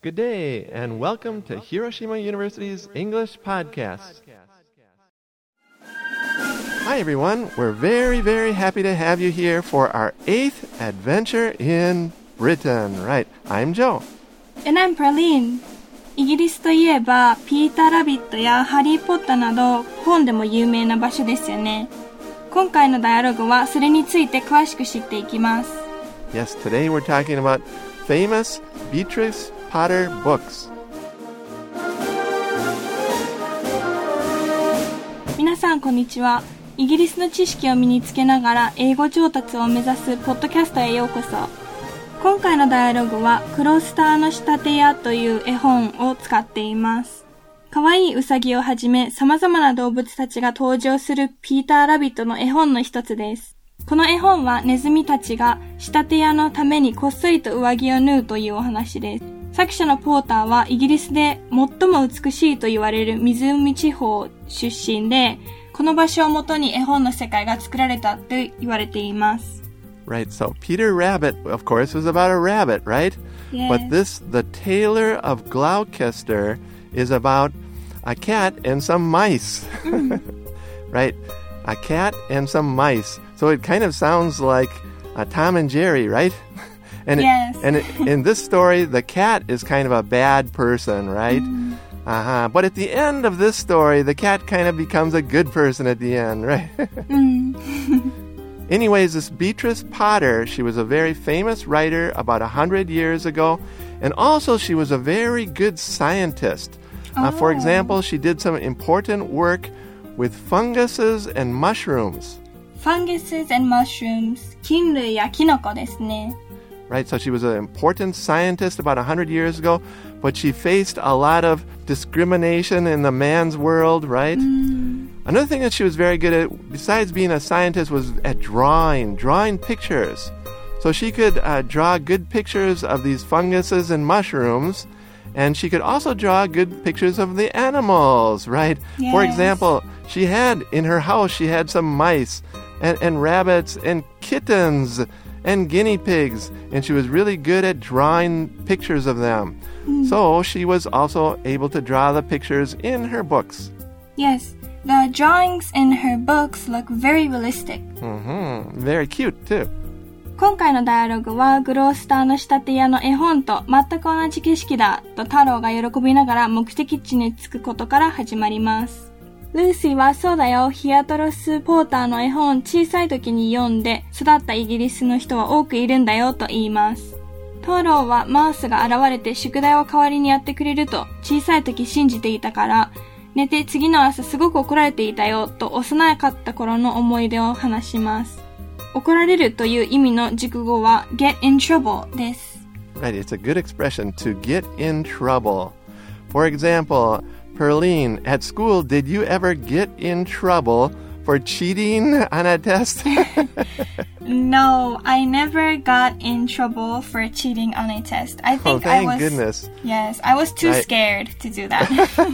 Good day, and welcome to Hiroshima University's English Podcast. Hi, everyone. We're very, very happy to have you here for our 8th adventure in Britain. Right, I'm Joe. And I'm Praline. イギリスといえば、ピーター・ラビットやハリー・ポッターなど本でも有名な場所ですよね。今回のダイアログはそれについて詳しく知っていきます。 Yes, today we're talking about famous Beatrix Potter books. 皆さんこんにちは。イギリスの知識を身につけながら英語上達を目指すポッドキャストへようこそ。今回のダイアログはクロスターの仕立て屋という絵本を使っています。かわいいウサギをはじめ様々な動物たちが登場するピーター・ラビットの絵本の一つです。この絵本はネズミたちが仕立て屋のためにこっそりと上着を縫うというお話です。作者のポーターはイギリスで最も美しいと言われる湖地方出身で、この場所をもとに絵本の世界が作られたと言われています。 Right, so Peter Rabbit, of course, was about a rabbit, right? Yes. But The Tailor of Gloucester, is about a cat and some mice. Right? A cat and some mice. So it kind of sounds like Tom and Jerry, right? Yes. In this story, the cat is kind of a bad person, right? But at the end of this story, the cat kind of becomes a good person at the end, right? Anyways, this Beatrix Potter, she was a very famous writer about 100 years ago, and also she was a very good scientist. For example, she did some important work with funguses and mushrooms. Funguses and mushrooms. 菌類やキノコですね。 Right, so she was an important scientist about 100 years ago, but she faced a lot of discrimination in the man's world, right? Another thing that she was very good at, besides being a scientist, was at drawing pictures. So she could draw good pictures of these funguses and mushrooms, and she could also draw good pictures of the animals, right? Yes. For example, in her house, she had some mice and rabbits and kittens and guinea pigs, and she was really good at drawing pictures of them. So she was also able to draw the pictures in her books. Yes, the drawings in her books look very realistic. Very cute, too. 今回のダイアログはグロースターの仕立て屋の絵本と全く同じ景色だと太郎が喜びながら目的地に着くことから始まります。ルーシーはそうだよ、ヒアトロス・ポーターの絵本小さい時に読んで育ったイギリスの人は多くいるんだよと言います。太郎はマウスが現れて宿題を代わりにやってくれると小さい時信じていたから、寝て次の朝すごく怒られていたよと幼かった頃の思い出を話します。怒られるという意味の熟語は get in trouble です。 Right, it's a good expression to get in trouble. For example,Perline, at school, did you ever get in trouble for cheating on a test? No, I never got in trouble for cheating on a test. I think thank goodness. Yes, I was too scared to do that.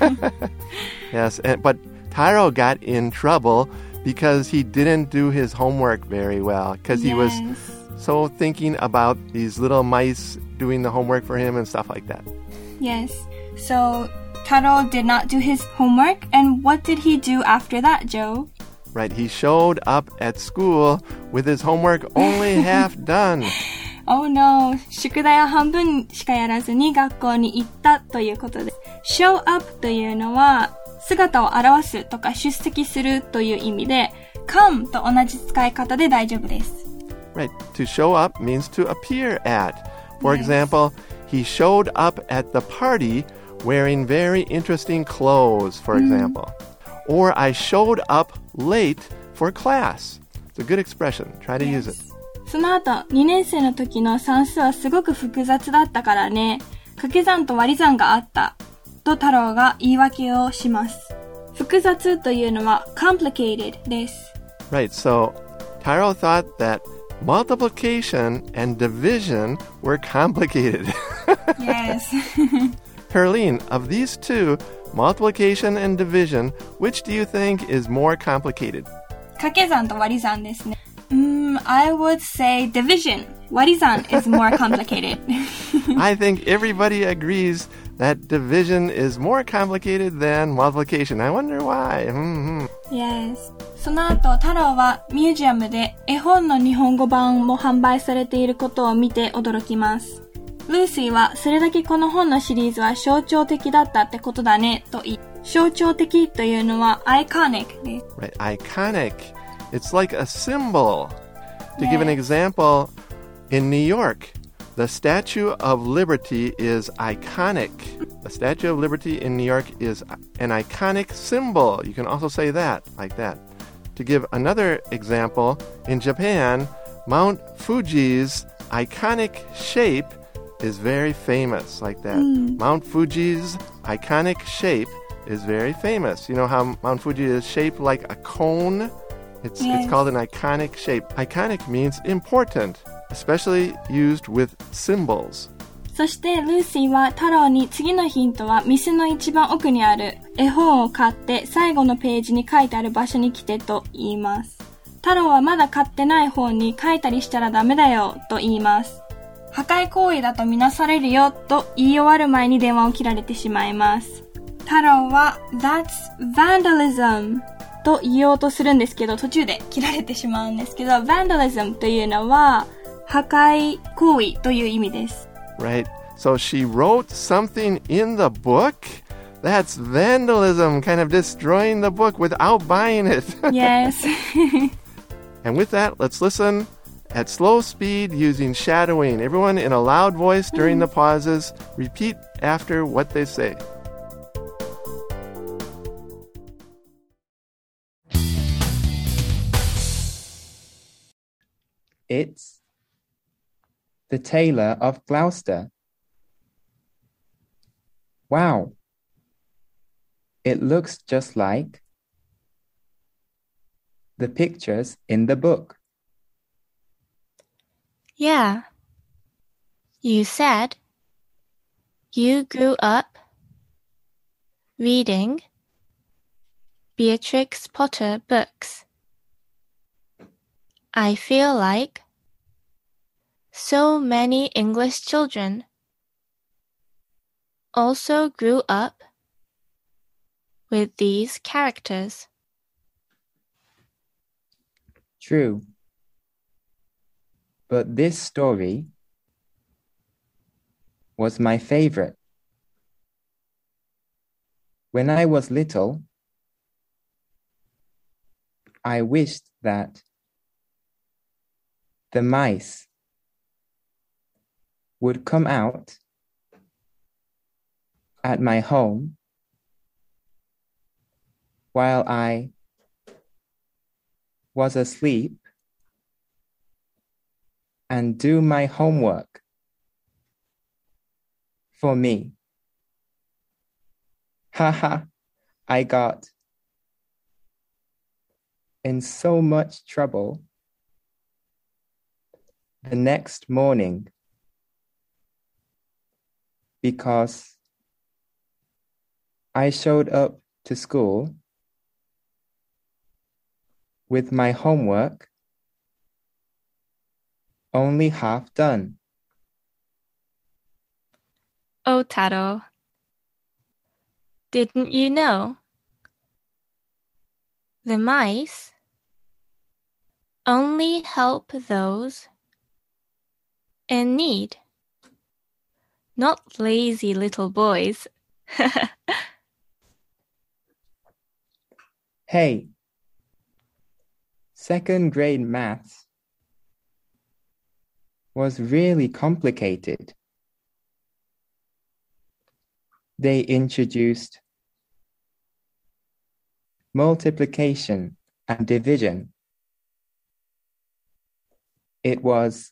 Yes, but Taro got in trouble because he didn't do his homework very well, because he was so thinking about these little mice doing the homework for him and stuff like that. Yes, so Taro did not do his homework, and what did he do after that, Joe? Right, he showed up at school with his homework only half done. Oh no, 宿題を半分しかやらずに学校に行ったということです。show up というのは姿を表すとか出席するという意味で come と同じ使い方で大丈夫です。 Right, to show up means to appear at. For example, he showed up at the party wearing very interesting clothes, for example. Or I showed up late for class. It's a good expression. Try to use it. その後、2年生の時の算数はすごく複雑だったからね。掛け算と割り算があった。と太郎が言い訳をします。複雑というのは complicated です。 Right, so Taro thought that multiplication and division were complicated. Yes. Perline, of these two, multiplication and division, which do you think is more complicated? 掛け算と割り算ですね。 I would say division. Warizan is more complicated. I think everybody agrees that division is more complicated than multiplication. I wonder why. Yes. その後、太郎はミュージアムで絵本の日本語版も販売されていることを見て驚きます。ルーシーはそれだけこの本のシリーズは象徴的だったってことだねと言い、象徴的というのは iconic です。 Right, iconic. It's like a symbol. To give an example, in New York, the Statue of Liberty is iconic. The Statue of Liberty in New York is an iconic symbol. You can also say that, like that. To give another example, in Japan, Mount Fuji's iconic shape is very famous, like that. Mount Fuji's iconic shape is very famous. You know how Mount Fuji is shaped like a cone? It's called an iconic shape. Iconic means important, especially used with symbols. そしてルーシーは太郎に次のヒントは店の一番奥にある絵本を買って最後のページに書いてある場所に来てと言います。太郎はまだ買ってない本に書いたりしたらダメだよと言います。破壊行為だとみなされるよと言い終わる前に電話を切られてしまいます。太郎は That's vandalism と言おうとするんですけど途中で切られてしまうんですけど vandalism というのは破壊行為という意味です。 Right. So she wrote something in the book? That's vandalism, kind of destroying the book without buying it. Yes. And with that, let's listen at slow speed using shadowing. Everyone in a loud voice during the pauses. Repeat after what they say. It's the Tailor of Gloucester. Wow. It looks just like the pictures in the book. Yeah. You said you grew up reading Beatrix Potter books. I feel like so many English children also grew up with these characters. True. But this story was my favorite. When I was little, I wished that the mice would come out at my home while I was asleep and do my homework for me. Haha, I got in so much trouble the next morning because I showed up to school with my homework only half done. Oh, Taro, didn't you know? The mice only help those in need, not lazy little boys. Hey, second grade maths was really complicated. They introduced multiplication and division. It was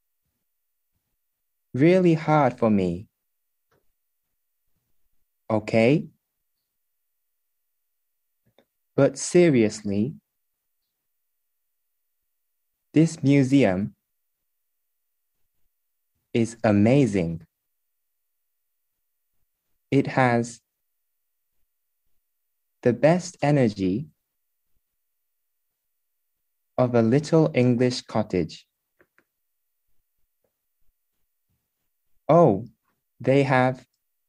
really hard for me. Okay? But seriously, this museum is amazing. It has the best energy of a little English cottage. Oh, they have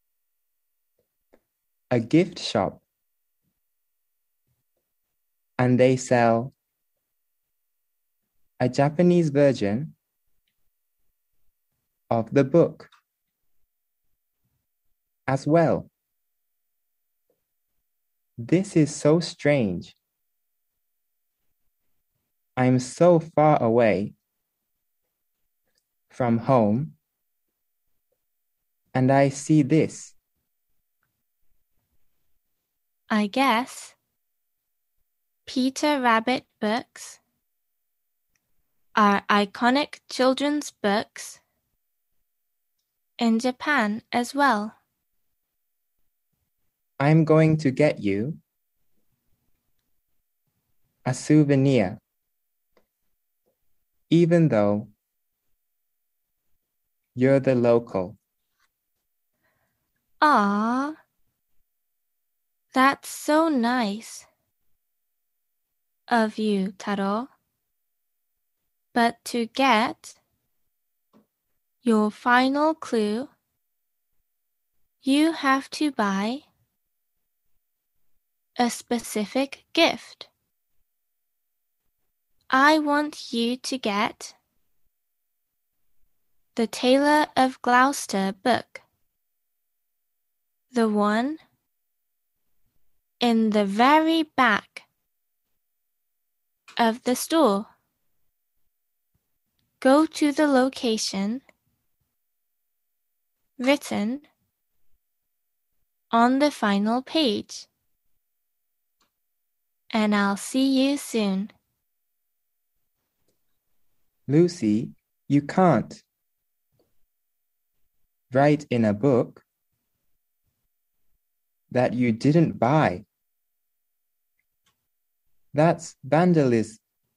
a gift shop, and they sell a Japanese version of the book as well. This is so strange. I'm so far away from home, and I see this. I guess Peter Rabbit books are iconic children's books in Japan as well. I'm going to get you a souvenir, even though you're the local. Ah, that's so nice of you, Taro. But to get your final clue, you have to buy a specific gift. I want you to get the Tailor of Gloucester book, the one in the very back of the store. Go to the location written on the final page, and I'll see you soon. Lucy, you can't write in a book that you didn't buy. That's vandalism.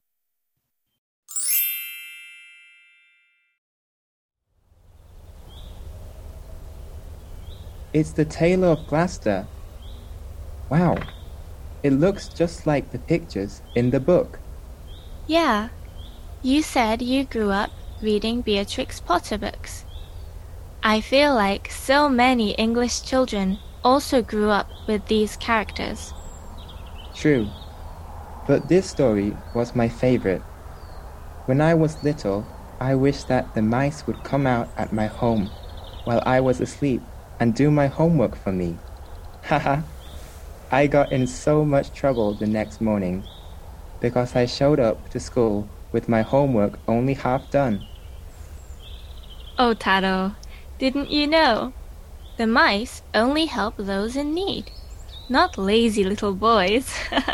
It's the Tailor of Gloucester. Wow, it looks just like the pictures in the book. Yeah, you said you grew up reading Beatrix Potter books. I feel like so many English children also grew up with these characters. True, but this story was my favorite. When I was little, I wished that the mice would come out at my home while I was asleep and do my homework for me. Haha, I got in so much trouble the next morning because I showed up to school with my homework only half done. Oh, Taro, didn't you know? The mice only help those in need, not lazy little boys.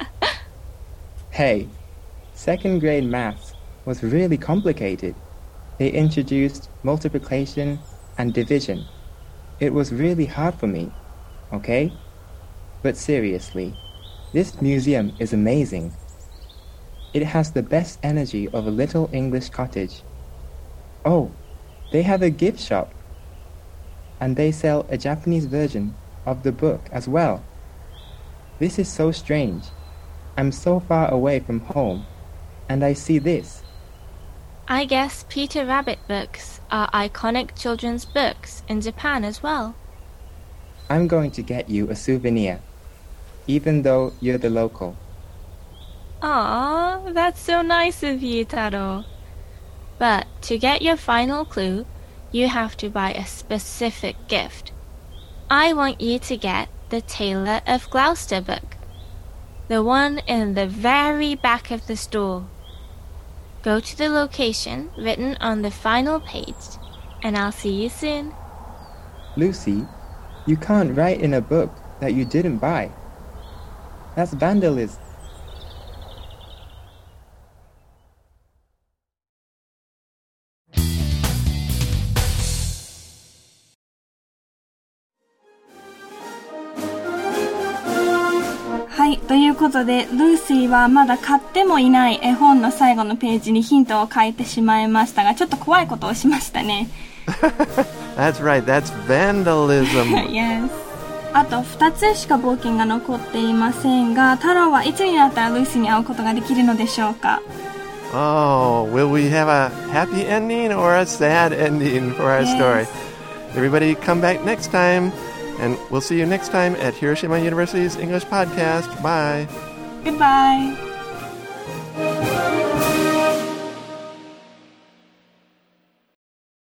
Hey, second grade maths was really complicated. They introduced multiplication and division. It was really hard for me, okay? But seriously, this museum is amazing. It has the best energy of a little English cottage. Oh, they have a gift shop. And they sell a Japanese version of the book as well. This is so strange. I'm so far away from home, and I see this. I guess Peter Rabbit books are iconic children's books in Japan as well. I'm going to get you a souvenir, even though you're the local. Aw, that's so nice of you, Taro. But to get your final clue, you have to buy a specific gift. I want you to get the Tailor of Gloucester book, the one in the very back of the store. Go to the location written on the final page, and I'll see you soon. Lucy, you can't write in a book that you didn't buy. That's vandalism. はい、ということで、ルーシーはまだ買ってもいない絵本の最後のページにヒントを書いてしまいましたが、ちょっと怖いことをしましたね。 That's right, that's vandalism. Yes. あと2つしか冒険が残っていませんが、太郎はいつになったらルーシーに会うことができるのでしょうか？ Oh, will we have a happy ending or a sad ending for our story? Everybody come back next time, and we'll see you next time at Hiroshima University's English Podcast. Bye. Goodbye.